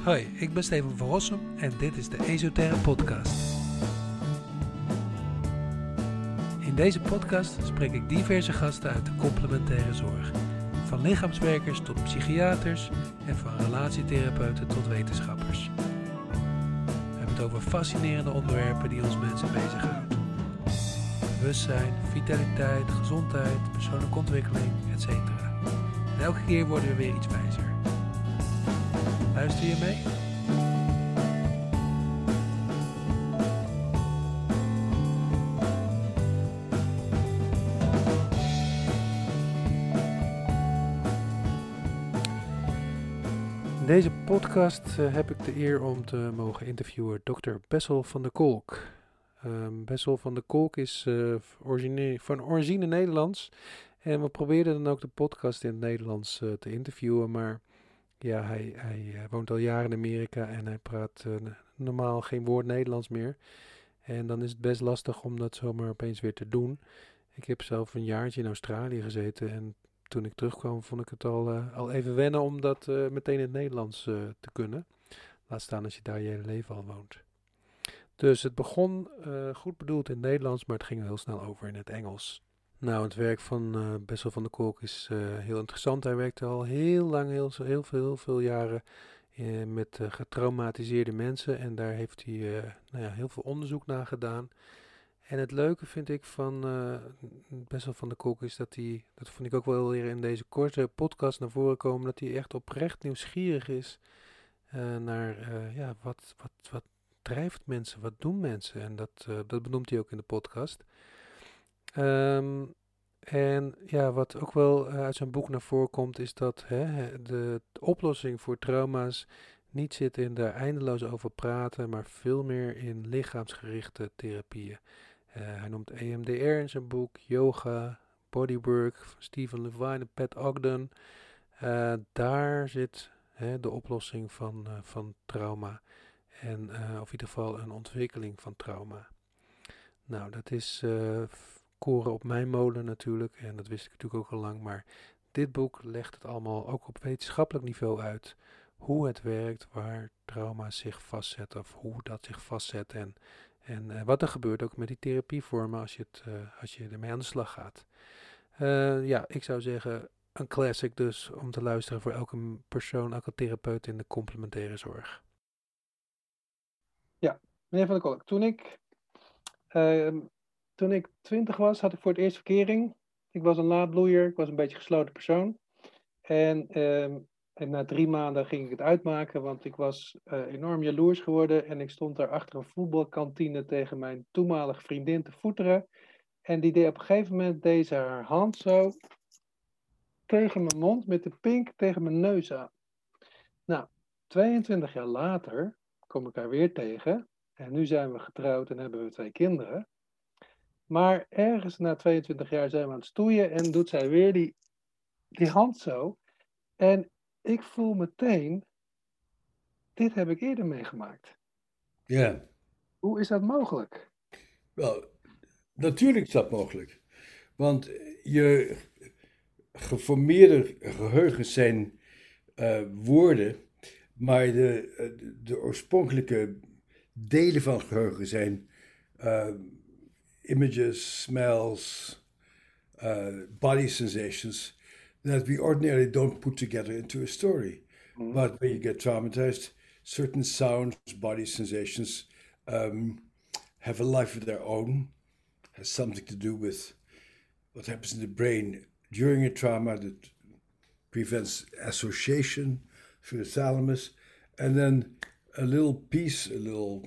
Hoi, ik ben Steven van Rossum en dit is de Esoterre Podcast. In deze podcast spreek ik diverse gasten uit de complementaire zorg. Van lichaamswerkers tot psychiaters en van relatietherapeuten tot wetenschappers. We hebben het over fascinerende onderwerpen die ons mensen bezighouden. Bewustzijn, vitaliteit, gezondheid, persoonlijke ontwikkeling, etc. En elke keer worden we weer iets wijzer. Luister je mee? In deze podcast heb ik de eer om te mogen interviewen Dr. Bessel van der Kolk. Bessel van der Kolk is van origine Nederlands. En we probeerden dan ook de podcast in het Nederlands te interviewen, maar ja, hij woont al jaren in Amerika en hij praat normaal geen woord Nederlands meer. En dan is het best lastig om dat zomaar opeens weer te doen. Ik heb zelf een jaartje in Australië gezeten en toen ik terugkwam vond ik het al even wennen om dat meteen in het Nederlands te kunnen. Laat staan als je daar je hele leven al woont. Dus het begon goed bedoeld in het Nederlands, maar het ging heel snel over in het Engels. Nou, het werk van Bessel van der Kolk is heel interessant. Hij werkte al heel lang, heel veel jaren met getraumatiseerde mensen. En daar heeft hij heel veel onderzoek naar gedaan. En het leuke vind ik van Bessel van der Kolk is dat hij, dat vond ik ook wel weer in deze korte podcast naar voren komen, dat hij echt oprecht nieuwsgierig is naar wat drijft mensen, wat doen mensen. En dat benoemt hij ook in de podcast. En ja, wat ook wel uit zijn boek naar voren komt, is dat de oplossing voor trauma's niet zit in daar eindeloos over praten, maar veel meer in lichaamsgerichte therapieën. Hij noemt EMDR in zijn boek, yoga, bodywork, van Stephen Levine en Pat Ogden. Daar zit de oplossing van trauma en of in ieder geval een ontwikkeling van trauma. Nou, dat is koren op mijn molen natuurlijk, en dat wist ik natuurlijk ook al lang, maar dit boek legt het allemaal ook op wetenschappelijk niveau uit. Hoe het werkt, waar trauma's zich vastzetten, of hoe dat zich vastzet en wat er gebeurt ook met die therapievormen als je ermee aan de slag gaat. Ik zou zeggen, een classic dus om te luisteren voor elke persoon, elke therapeut in de complementaire zorg. Ja, meneer Van der Kolk, toen ik 20 was, had ik voor het eerst verkering. Ik was een laadbloeier, ik was een beetje een gesloten persoon. En na 3 maanden ging ik het uitmaken, want ik was enorm jaloers geworden. En ik stond daar achter een voetbalkantine tegen mijn toenmalige vriendin te voeteren. En die deed op een gegeven moment haar hand zo tegen mijn mond met de pink tegen mijn neus aan. Nou, 22 jaar later kom ik haar weer tegen. En nu zijn we getrouwd en hebben we 2 kinderen. Maar ergens na 22 jaar zijn we aan het stoeien en doet zij weer die hand zo. En ik voel meteen, dit heb ik eerder meegemaakt. Ja. Hoe is dat mogelijk? Wel, natuurlijk is dat mogelijk. Want je geformeerde geheugens zijn woorden, maar de oorspronkelijke delen van geheugen zijn images, smells, body sensations that we ordinarily don't put together into a story. Mm. But when you get traumatized, certain sounds, body sensations have a life of their own, has something to do with what happens in the brain during a trauma that prevents association through the thalamus, and then a little piece, a little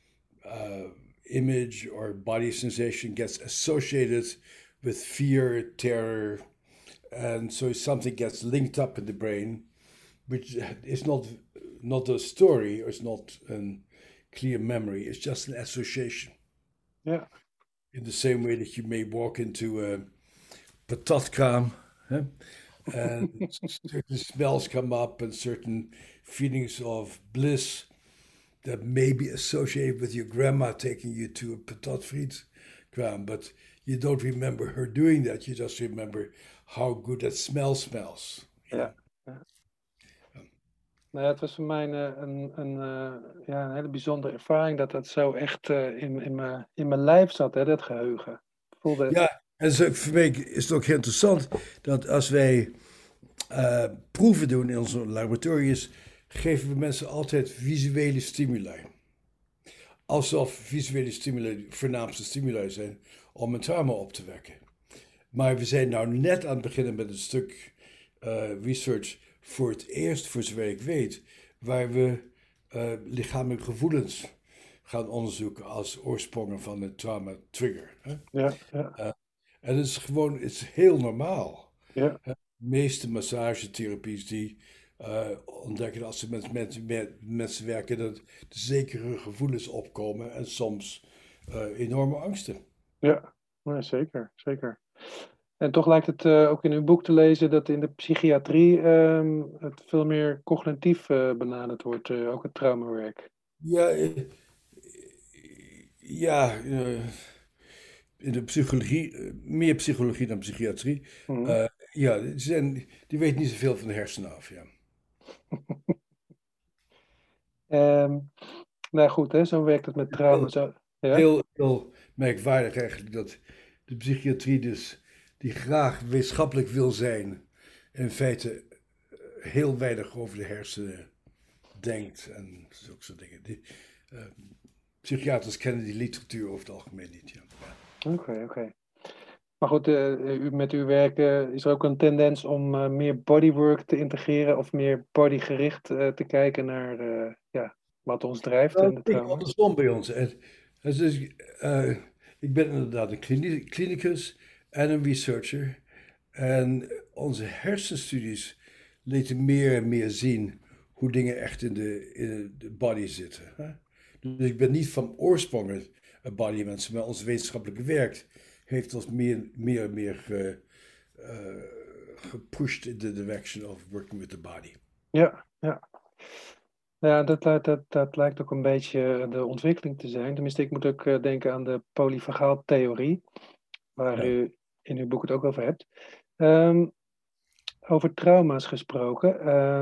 image or body sensation gets associated with fear, terror, and so something gets linked up in the brain, which is not a story, or it's not a clear memory, it's just an association. Ja. In the same way that you may walk into a patatkraam, and certain smells come up and certain feelings of bliss that may be associated with your grandma taking you to a patatfrietkraam, but you don't remember her doing that. You just remember how good that smell smells. Ja. Nou ja, het was voor mij een hele bijzondere ervaring dat dat zo echt in mijn lijf zat, hè, dat geheugen. Ik voelde, Ja, en voor mij is het ook heel interessant dat als wij proeven doen in onze laboratoriums, geven we mensen altijd visuele stimuli. Alsof visuele stimuli de voornaamste stimuli zijn om een trauma op te wekken. Maar we zijn nou net aan het beginnen met een stuk research voor het eerst, voor zover ik weet, waar we lichamelijke gevoelens gaan onderzoeken als oorsprongen van een trauma trigger. Hè? ja. En het is gewoon, het is heel normaal. Ja, De meeste massagetherapies die ontdekken dat als ze met mensen werken, dat er zekere gevoelens opkomen en soms enorme angsten. ja. Nee, zeker, zeker. En toch lijkt het ook in uw boek te lezen dat in de psychiatrie het veel meer cognitief benaderd wordt, ook het traumawerk. Ja, ja, in de psychologie, meer psychologie dan psychiatrie. Mhm. Ja, die weten niet zoveel van de hersenen af. Ja. Ehm, nou goed, hè, zo werkt het met trauma. Heel, Zo, ja? heel merkwaardig eigenlijk dat de psychiatrie dus, die graag wetenschappelijk wil zijn, in feite heel weinig over de hersenen denkt en zulke soort dingen. Eh, Psychiaters kennen die literatuur over het algemeen niet. Ja. Oké. Maar goed, met uw werk is er ook een tendens om meer bodywork te integreren of meer bodygericht te kijken naar wat ons drijft Nou, en het de is trauma. andersom bij ons. Dus, ik ben inderdaad een klinicus en een researcher. En onze hersenstudies lieten meer en meer zien hoe dingen echt in de body zitten. Hè? Dus ik ben niet van oorsprong een bodymens, maar ons wetenschappelijke werk heeft ons meer en meer gepusht in the direction of working with the body. Ja. Ja, dat lijkt ook een beetje de ontwikkeling te zijn. Tenminste, ik moet ook denken aan de polyvagaaltheorie, waar Ja. u in uw boek het ook over hebt. Ehm, Over trauma's gesproken.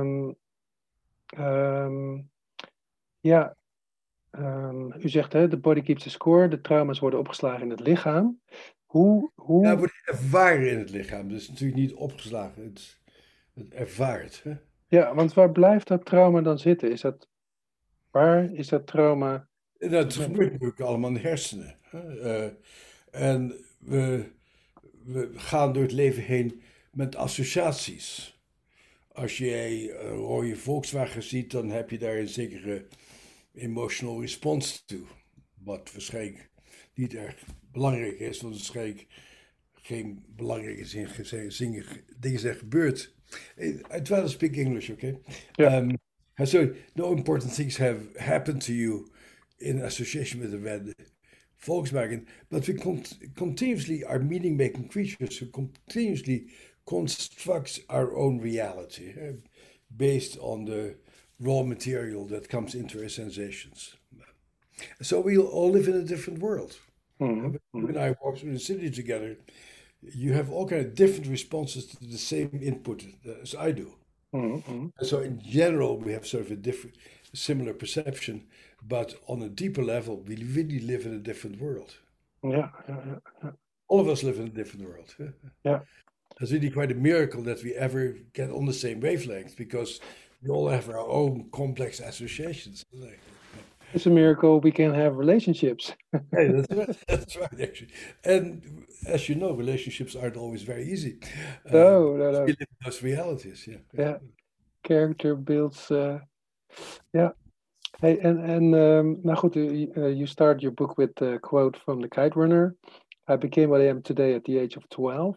Ja, u zegt hè, de body keeps the score. De trauma's worden opgeslagen in het lichaam. Ja, het Hoe, wordt ervaren in het lichaam. Dus natuurlijk niet opgeslagen. Het ervaart. Hè? ja, want waar blijft dat trauma dan zitten? Waar is dat trauma? En dat gebeurt natuurlijk allemaal in de hersenen. Hè? En we gaan door het leven heen met associaties. Als jij een rode Volkswagen ziet, dan heb je daar een zekere emotional response toe. Wat waarschijnlijk niet erg belangrijk is, want waarschijnlijk geen belangrijke dingen zijn gebeurd. I'd rather speak English, okay? Ja, So no important things have happened to you in association with the red Volkswagen, but we continuously are meaning-making creatures who continuously construct our own reality based on the raw material that comes into our sensations. So we all live in a different world. mhm, You and mhm, I walk through the city together. You have all kind of different responses to the same input as I do. mhm. And so in general, we have sort of similar perception, but on a deeper level, we really live in a different world. Ja. All of us live in a different world. Ja. It's really quite a miracle that we ever get on the same wavelength because we all have our own complex associations. It's a miracle we can have relationships. Hey, that's right. That's right, actually. And as you know, relationships aren't always very easy. No. We live in those realities. Yeah. Yeah. Character builds. Yeah. Hey, nou goed, you start your book with a quote from the Kite Runner. I became what I am today at the age of 12.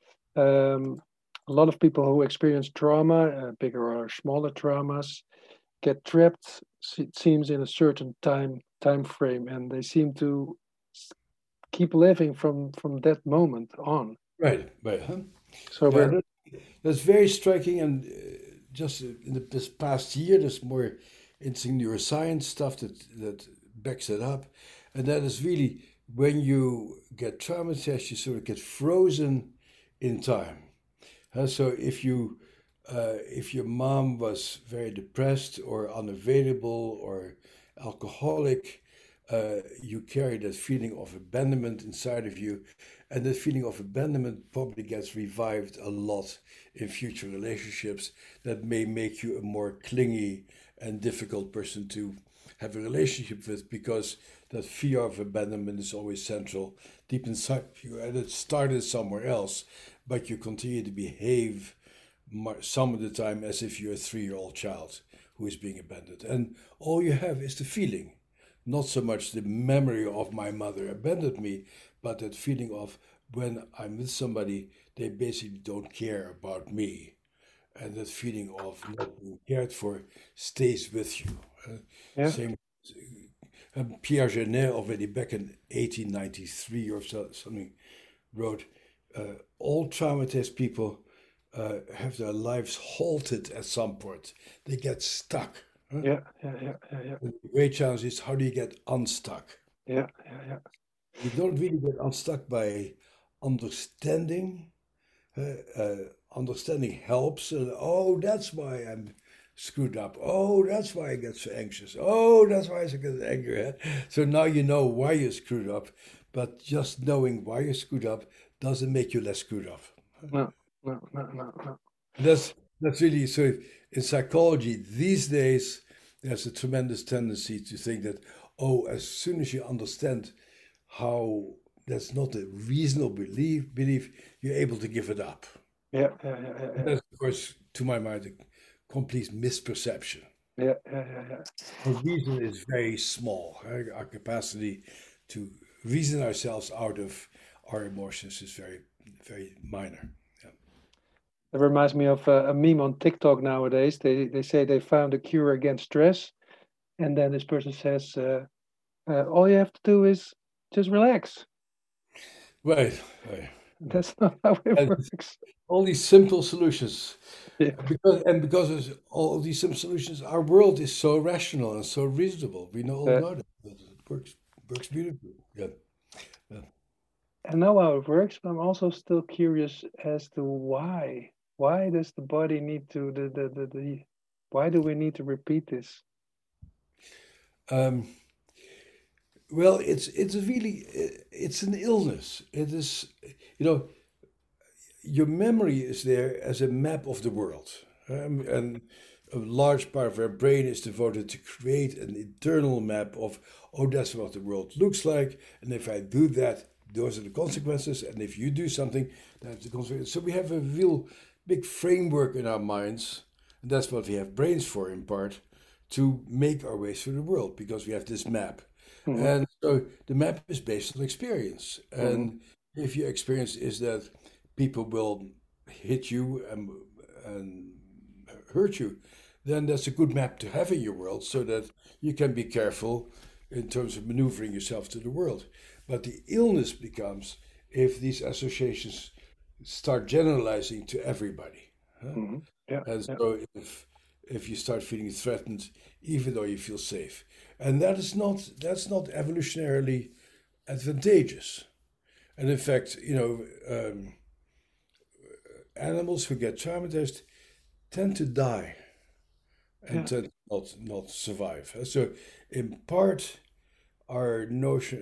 A lot of people who experience trauma, bigger or smaller traumas, get trapped, it seems, in a certain time frame, and they seem to keep living from that moment on. Right. Huh? So Yeah, that's very striking. And just in this past year, there's more interesting neuroscience stuff that backs it up. And that is really when you get traumatized, you sort of get frozen in time. So if you if your mom was very depressed or unavailable or alcoholic, you carry that feeling of abandonment inside of you. And that feeling of abandonment probably gets revived a lot in future relationships that may make you a more clingy and difficult person to have a relationship with, because that fear of abandonment is always central deep inside you, and it started somewhere else, but you continue to behave some of the time as if you're a 3-year-old child who is being abandoned. And all you have is the feeling, not so much the memory of my mother abandoned me, but that feeling of when I'm with somebody, they basically don't care about me. And that feeling of not being cared for stays with you. Yeah. Same. Pierre Genet, already back in 1893 or something, wrote, all traumatized people have their lives halted at some point. They get stuck. Yeah. And the great challenge is, how do you get unstuck? Yeah. You don't really get unstuck by understanding. Understanding helps. Oh, that's why I'm screwed up. Oh, that's why I get so anxious. Oh, that's why I get angry. So now you know why you're screwed up, but just knowing why you're screwed up doesn't make you less screwed up. No. That's really, so in psychology these days, there's a tremendous tendency to think that, oh, as soon as you understand how that's not a reasonable belief, you're able to give it up. Yeah. That's, of course, to my mind, a complete misperception. Yeah. Our reason is very small. Our capacity to reason ourselves out of our emotions is very, very minor. Yeah. It reminds me of a meme on TikTok nowadays. They say they found a cure against stress, and then this person says, all you have to do is just relax. Right. That's not how it works. All these simple solutions. Yeah. Because of all these simple solutions, our world is so rational and so reasonable. We know all about it. It works beautifully. Yeah. I know how it works, but I'm also still curious as to why. Why does the body need to why do we need to repeat this? Well, it's an illness. It is, your memory is there as a map of the world, and a large part of our brain is devoted to create an internal map of, oh, that's what the world looks like, and if I do that, those are the consequences, and if you do something, that's the consequences. So we have a real big framework in our minds, and that's what we have brains for, in part, to make our way through the world, because we have this map. Mm-hmm. And so the map is based on experience. Mm-hmm. And if your experience is that people will hit you and hurt you, then that's a good map to have in your world, so that you can be careful in terms of maneuvering yourself to the world. But the illness becomes if these associations start generalizing to everybody. Mm-hmm. Yeah. And so if you start feeling threatened, even though you feel safe, and that's not evolutionarily advantageous. And in fact, animals who get traumatized tend to die and tend not survive. So in part, our notion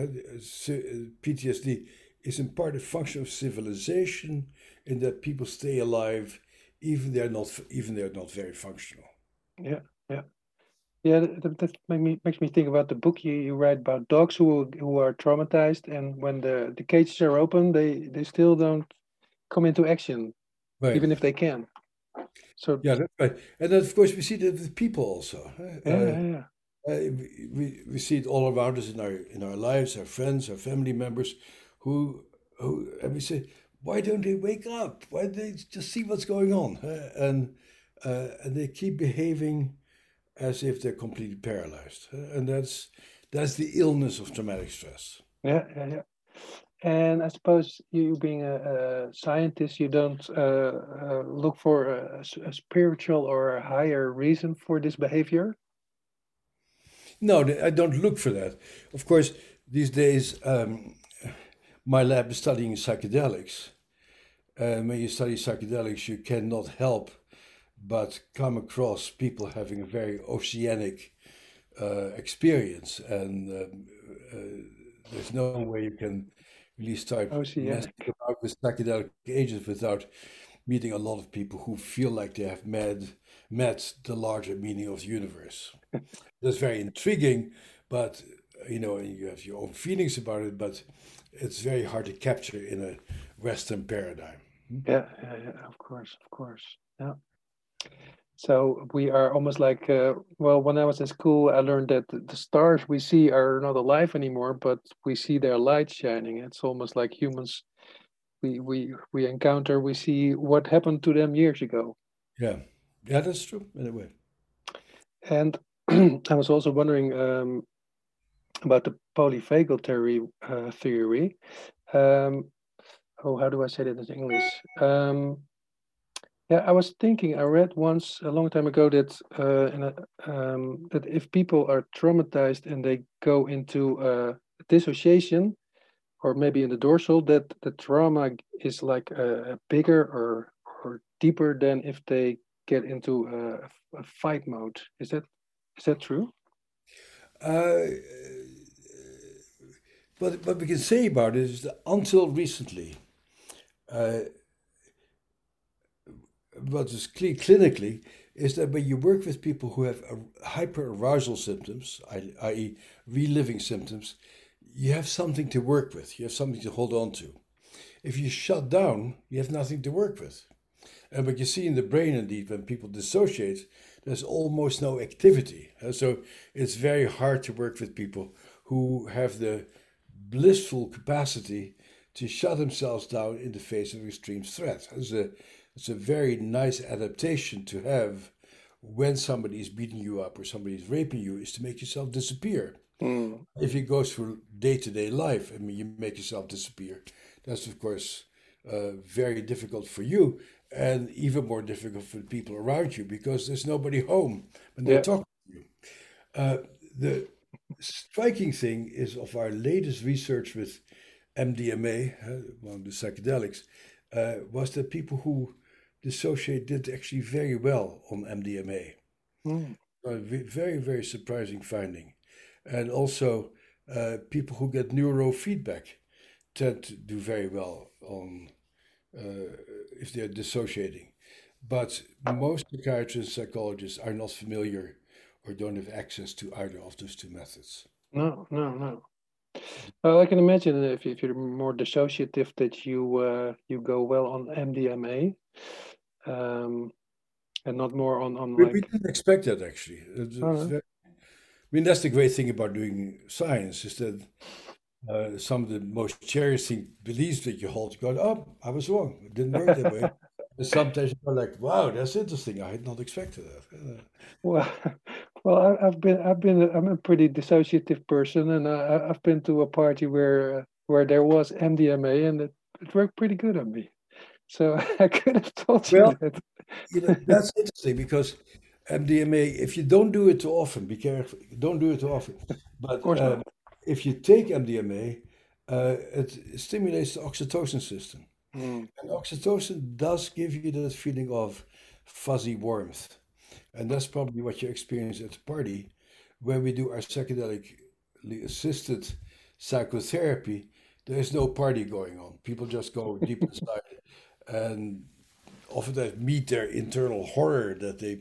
PTSD is in part a function of civilization, in that people stay alive even they're not very functional. Yeah. That makes me think about the book you write about dogs who are traumatized, and when the cages are open, they still don't come into action, right, even if they can. So yeah, that's right. And then, of course, we see that with people also. We see it all around us in our lives, our friends, our family members, who and we say, why don't they wake up? Why don't they just see what's going on? And they keep behaving as if they're completely paralyzed. And that's the illness of traumatic stress. Yeah. And I suppose you being a scientist, you don't look for a spiritual or a higher reason for this behavior? No, I don't look for that. Of course, these days, my lab is studying psychedelics. When you study psychedelics, you cannot help but come across people having a very oceanic experience, and there's no way you can really start messing Oceanic. about with psychedelic agents without meeting a lot of people who feel like they have met the larger meaning of the universe. That's very intriguing, but you have your own feelings about it, but it's very hard to capture in a Western paradigm. Yeah, of course. Yeah. So we are almost like, well, when I was in school, I learned that the stars we see are not alive anymore, but we see their light shining. It's almost like humans we encounter, we see what happened to them years ago. Yeah, yeah, that's true in a way. And I was also wondering about the polyvagal theory. Um, how do I say that in English? Yeah, I was thinking. I read once a long time ago that that if people are traumatized and they go into dissociation, or maybe in the dorsal, that the trauma is like bigger or deeper than if they get into a fight mode. Is that true? Uh, what we can say about it is that until recently, uh, what is clear clinically is that when you work with people who have hyperarousal symptoms, i.e., reliving symptoms, you have something to work with. You have something to hold on to. If you shut down, you have nothing to work with. And what you see in the brain, indeed, when people dissociate, there's almost no activity. So it's very hard to work with people who have the blissful capacity to shut themselves down in the face of extreme threat. It's a very nice adaptation to have when somebody is beating you up or somebody is raping you, is to make yourself disappear. Mm. If you go through day-to-day life, I mean, you make yourself disappear. That's, of course, very difficult for you, and even more difficult for the people around you because there's nobody home when they're Yeah. talking to you. The striking thing is of our latest research with MDMA, one of the psychedelics, was that people who dissociate did actually very well on MDMA. Mm. A very, very surprising finding. And also, people who get neurofeedback tend to do very well on if they're dissociating. But most psychiatrists, psychologists are not familiar or don't have access to either of those two methods. No. Well, I can imagine if you're more dissociative that you go well on MDMA, and not more on We like. didn't expect that actually. Oh, no. I mean, that's the great thing about doing science is that some of the most cherishing beliefs that you hold, you go, oh, I was wrong. It didn't work that way. And sometimes you go like, wow, that's interesting. I had not expected that. Well, well, I'm a pretty dissociative person, and I've been to a party where there was MDMA, and it worked pretty good on me. So I could have told you Well, that. that's interesting because MDMA, if you don't do it too often, be careful, don't do it too often. Of But course not. if you take MDMA, it stimulates the oxytocin system. Mm. And oxytocin does give you that feeling of fuzzy warmth. And that's probably what you experience at the party. When we do our psychedelically assisted psychotherapy, there's no party going on. People just go deep inside and often they meet their internal horror that they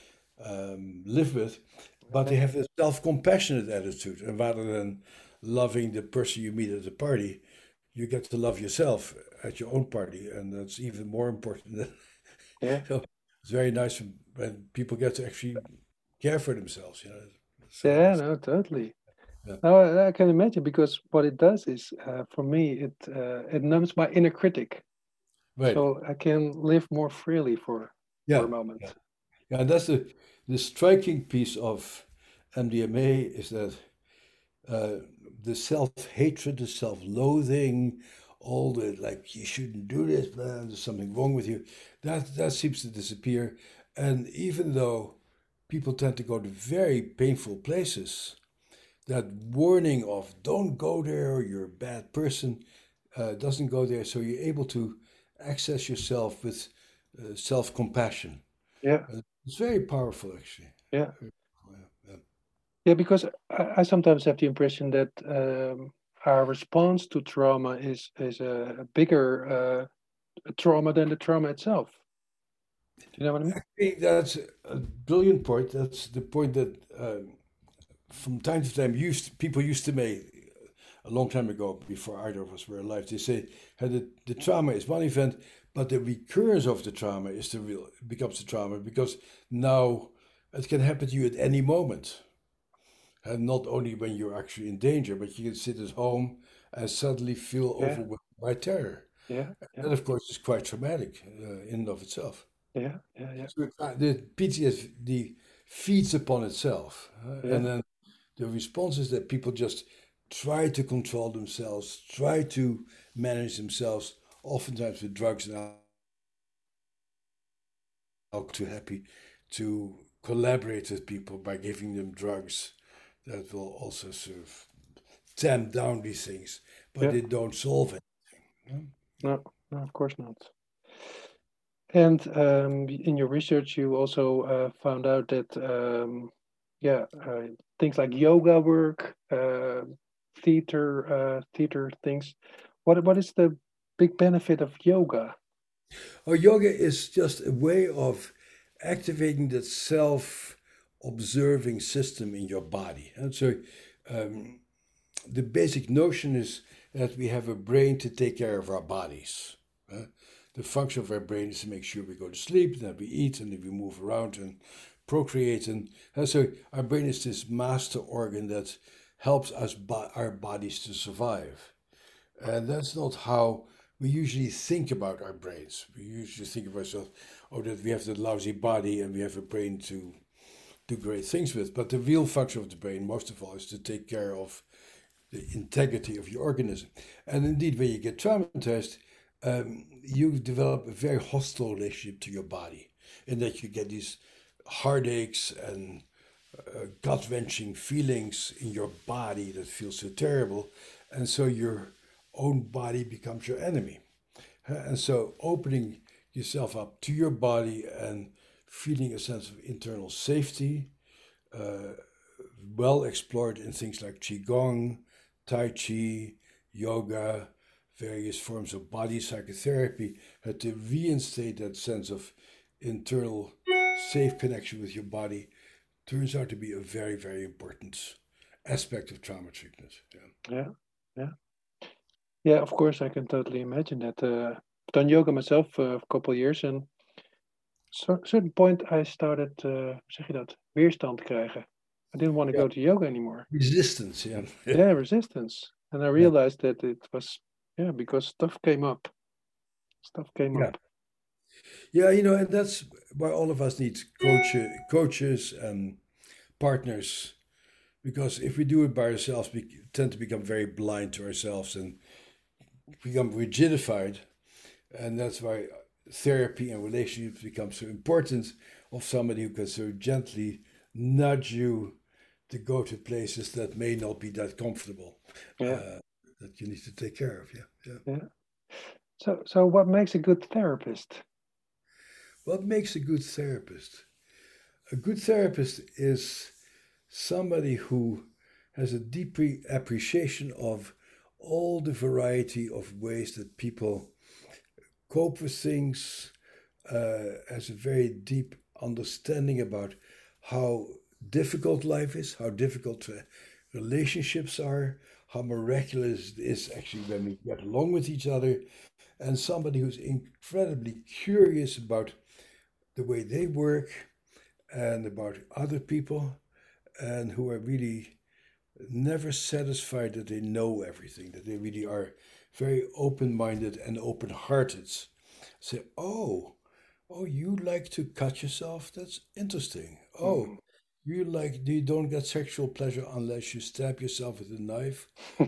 live with, but they have a self-compassionate attitude. And rather than loving the person you meet at the party, you get to love yourself at your own party, and that's even more important. Yeah, So it's very nice when people get to actually care for themselves. yeah, no, totally. Yeah. Now I can imagine because what it does is, for me, it numbs my inner critic, Right. so I can live more freely for Yeah. a moment. Yeah. Yeah. And that's the striking piece of MDMA is that the self-hatred, the self-loathing, all the like you shouldn't do this, man, there's something wrong with you, that seems to disappear. And even though people tend to go to very painful places, that warning of don't go there, you're a bad person, doesn't go there. So you're able to access yourself with self-compassion. Yeah. It's very powerful, actually. Yeah. Very powerful, yeah. Yeah, because I sometimes have the impression that our response to trauma is a bigger trauma than the trauma itself. Do you know what I mean? I think that's a brilliant point. That's the point that from time to time people used to make a long time ago, before either of us were alive. They say how the trauma is one event, but the recurrence of the trauma is the real becomes the trauma, because now it can happen to you at any moment, and not only when you're actually in danger, but you can sit at home and suddenly feel Yeah. overwhelmed by terror. Yeah. Yeah. That, of course, is quite traumatic in and of itself. Yeah. Yeah. Yeah. So the PTSD feeds upon itself, and Yeah. then the response is that people just try to control themselves, try to manage themselves, oftentimes with drugs and alcohol. Too happy to collaborate with people by giving them drugs that will also sort of tamp down these things, but Yeah. they don't solve anything. No. No. Of course not. And in your research, you also found out that yeah, things like yoga work, theater things. What is the big benefit of yoga? Oh, yoga is just a way of activating that self observing system in your body. And so um, the basic notion is that we have a brain to take care of our bodies. The function of our brain is to make sure we go to sleep, that we eat, and that we move around and procreate. And so our brain is this master organ that helps us, our bodies, to survive. And that's not how we usually think about our brains. We usually think of ourselves, oh, that we have that lousy body and we have a brain to do great things with. But the real function of the brain, most of all, is to take care of the integrity of your organism. And indeed, when you get traumatized, you develop a very hostile relationship to your body, in that you get these heartaches and gut wrenching feelings in your body that feel so terrible. And so your own body becomes your enemy. And so opening yourself up to your body and feeling a sense of internal safety, uh, well explored in things like Qigong, Tai Chi, yoga, various forms of body psychotherapy, had to reinstate that sense of internal safe connection with your body, turns out to be a very, very important aspect of trauma treatment. Yeah. Yeah, yeah, yeah. Of course, I can totally imagine that. I've done yoga myself for a couple of years, and certain point I started, hoe zeg je dat, weerstand krijgen. I didn't want to Yeah. go to yoga anymore. Resistance, yeah. Yeah, resistance, and I Yeah. realized that it was because stuff came up. Stuff came Yeah. up. Yeah, and that's why all of us need coaches and partners, because if we do it by ourselves, we tend to become very blind to ourselves and become rigidified. And that's why therapy and relationships become so important, of somebody who can so gently nudge you to go to places that may not be that comfortable, Yeah, that you need to take care of. Yeah, yeah. yeah. So what makes a good therapist? What makes a good therapist? A good therapist is somebody who has a deep appreciation of all the variety of ways that people cope with things, has a very deep understanding about how difficult life is, how difficult relationships are, how miraculous it is actually when we get along with each other, and somebody who's incredibly curious about the way they work and about other people, and who are really never satisfied that they know everything, that they really are very open minded and open hearted. Say, oh, you like to cut yourself? That's interesting. Oh, you don't get sexual pleasure unless you stab yourself with a knife?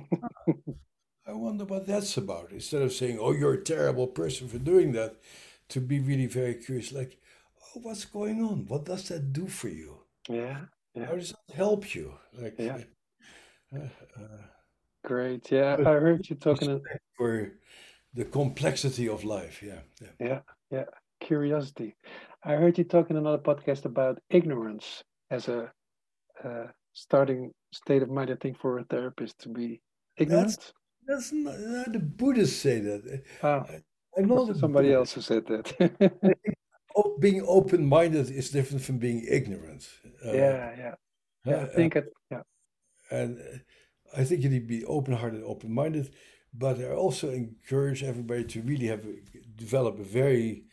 I wonder what that's about. Instead of saying, oh, you're a terrible person for doing that, to be really very curious, like, oh, what's going on? What does that do for you? Yeah, yeah, How does that help you? Like, yeah. uh, uh, Great. Yeah, with I heard you talking. respect for the complexity of life. Yeah, yeah. Yeah, yeah. Curiosity. I heard you talk in another podcast about ignorance as a starting state of mind, I think, for a therapist to be That's ignorant. that's not the Buddhists say that. Ah, I, I'm was not it a somebody else Buddhist. who said that? I think being open-minded is different from being ignorant. Uh, Yeah, yeah, yeah. I uh, think it. Yeah. and I think you need to be open-hearted, open-minded, but I also encourage everybody to really develop a very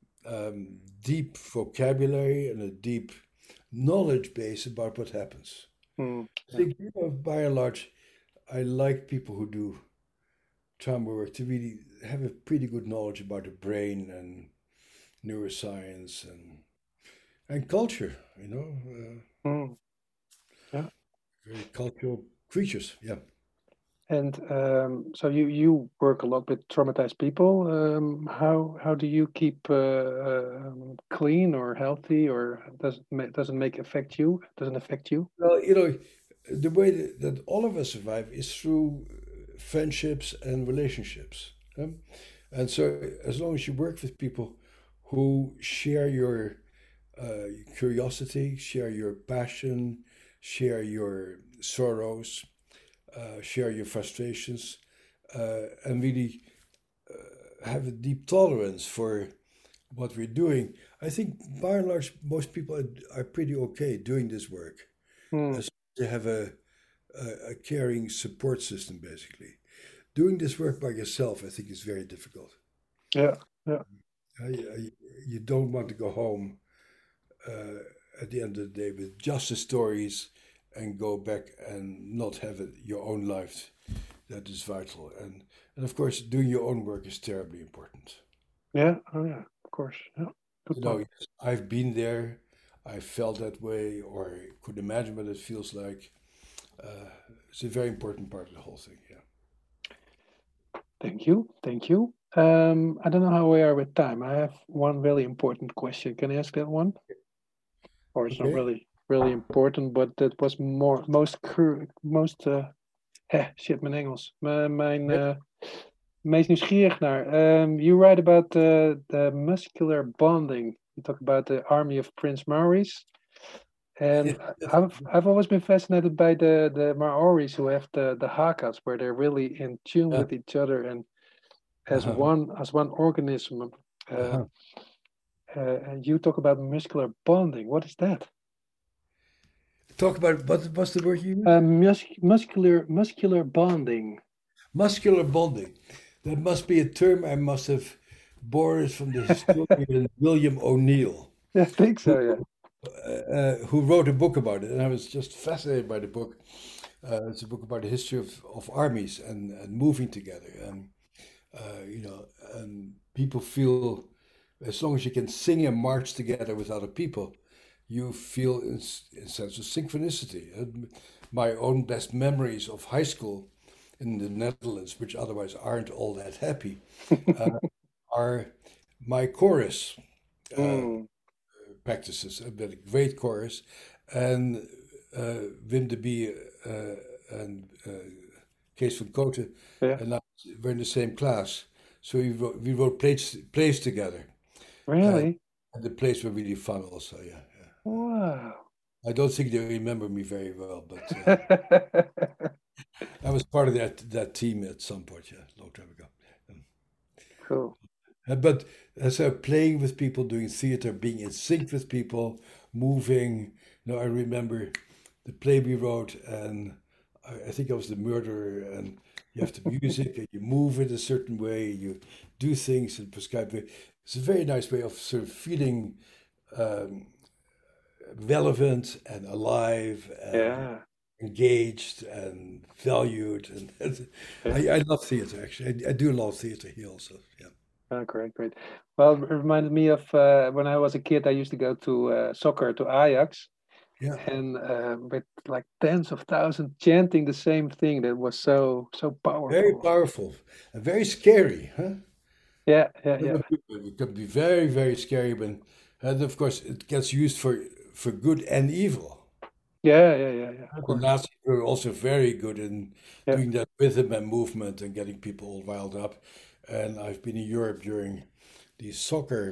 deep vocabulary and a deep knowledge base about what happens. Mm, I yeah. think, by and large, I like people who do trauma work to really have a pretty good knowledge about the brain and neuroscience and culture. Mm, yeah. Very cultural creatures. Yeah. And so you work a lot with traumatized people. How do you keep clean or healthy, or doesn't make affect you? Doesn't affect you? Well, the way that all of us survive is through friendships and relationships. And so, as long as you work with people who share your curiosity, share your passion, share your sorrows, share your frustrations, and really have a deep tolerance for what we're doing, I think by and large, most people are pretty okay doing this work. Mm, As they have a caring support system, basically. Doing this work by yourself, I think, is very difficult. yeah, yeah. You don't want to go home at the end of the day with just the stories and go back and not have your own life. That is vital. And of course, doing your own work is terribly important. Yeah, oh yeah, of course. Yeah, good point. Yes, I've been there. I felt that way, or I could imagine what it feels like. It's a very important part of the whole thing. Yeah. Thank you, thank you. I don't know how we are with time. I have one really important question. Can I ask that one? Or it's not Okay. really important, but that was most shit, mijn Engels. Mijn Yeah. meest nieuwsgierig naar. You write about the muscular bonding. You talk about the army of Prince Maoris. And I've always been fascinated by the Maoris who have the Hakas, where they're really in tune Yeah. with each other and as Uh-huh. one organism. Uh-huh. And you talk about muscular bonding. What is that? Talk about what's the word you use? Muscular bonding. Muscular bonding. That must be a term I must have borrowed from the historian William O'Neill, Yeah, I think who so. Yeah. who wrote a book about it, and I was just fascinated by the book. It's a book about the history of armies and moving together, and and people feel as long as you can sing and march together with other people, you feel in sense of synchronicity. My own best memories of high school in the Netherlands, which otherwise aren't all that happy, are my chorus uh, Mm, practices. I've got a great chorus, and Wim de Bie and Kees van Koten yeah. and I were in the same class. So we wrote plays together. And Really? the plays were really fun also, yeah. Wow. I don't think they remember me very well, but I was part of that team at some point, yeah, a long time ago. Um, Cool. But so playing with people, doing theater, being in sync with people, moving. I remember the play we wrote, and I think I was the murderer, and you have the music, and you move in a certain way, you do things in a prescribed way. It's a very nice way of sort of feeling um, relevant and alive and Yeah. engaged and valued. And Yeah. I love theater, actually. I do love theater here also. Yeah. Oh, great, great. Well, it reminded me of when I was a kid, I used to go to soccer to Ajax, Yeah. and with like tens of thousands chanting the same thing. That was so Very powerful. powerful and very scary, huh? Yeah, yeah, yeah, It can be very, very scary and of course, it gets used for good and evil. yeah, yeah, yeah, yeah. Of The course. Nazis were also very good in Yeah. doing that rhythm and movement and getting people all riled up. And I've been in Europe during these soccer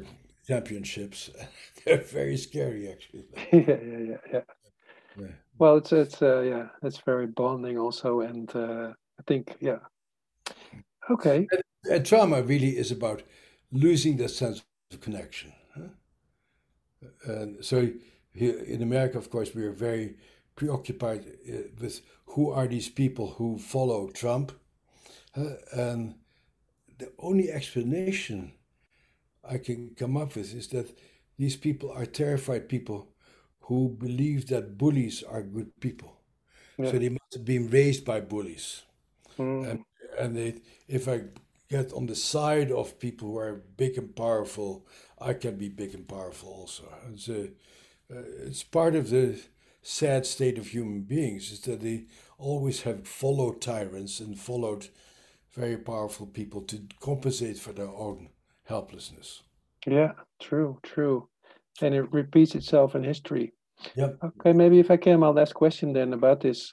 championships. They're very scary, actually. Yeah. Yeah. Well, it's very bonding also, and I think, yeah. Okay. And trauma really is about losing that sense of connection. Huh? And so here in America, of course, we are very preoccupied with who are these people who follow Trump. And the only explanation I can come up with is that these people are terrified people who believe that bullies are good people. Yeah. So they must have been raised by bullies. Mm. And if I get on the side of people who are big and powerful, I can be big and powerful also. It's part of the sad state of human beings is that they always have followed tyrants and followed very powerful people to compensate for their own helplessness. Yeah, true. And it repeats itself in history. Yep. Okay, maybe if I can, my last question then about this.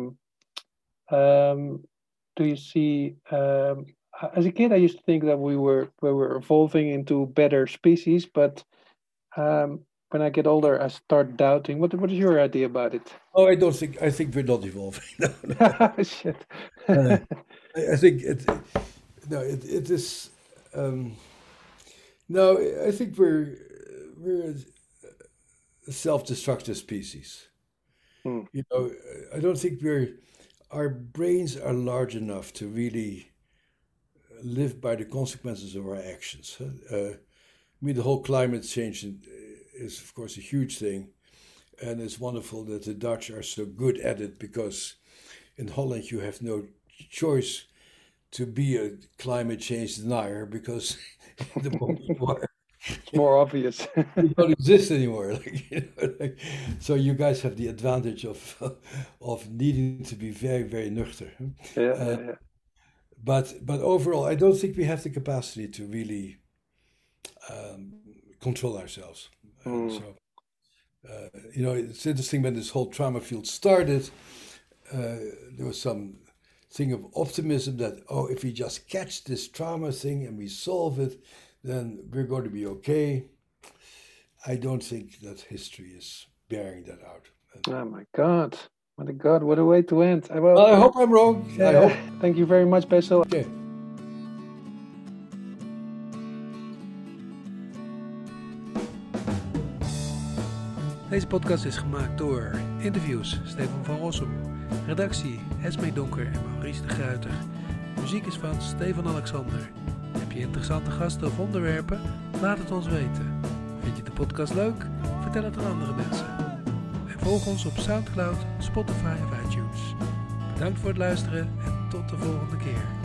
Do you see, as a kid, I used to think that we were evolving into better species, but when I get older, I start doubting. What is your idea about it? Oh, I think we're not evolving. No. Shit. I think it is. No, I think we're a self-destructive species. You know, I don't think our brains are large enough to really live by the consequences of our actions. I mean, the whole climate change is, of course, a huge thing. And it's wonderful that the Dutch are so good at it because in Holland you have no choice to be a climate change denier because the moment you are, It's more obvious. you don't exist anymore. So you guys have the advantage of needing to be very, very nuchter. Yeah. But overall, I don't think we have the capacity to really control ourselves. You know, it's interesting when this whole trauma field started, there was some thing of optimism that, if we just catch this trauma thing and we solve it, then we're going to be okay. I don't think that history is bearing that out. Oh my God. What a way to end. Well, I hope I'm wrong. I hope. Thank you very much, Bessel. Okay. Deze podcast is gemaakt door interviews Stefan van Rossum, redactie Esmee Donker en Maurice de Gruyter. Muziek is van Stefan Alexander. Heb je interessante gasten of onderwerpen? Laat het ons weten. Vind je de podcast leuk? Vertel het aan andere mensen. En volg ons op Soundcloud, Spotify of iTunes. Bedankt voor het luisteren en tot de volgende keer.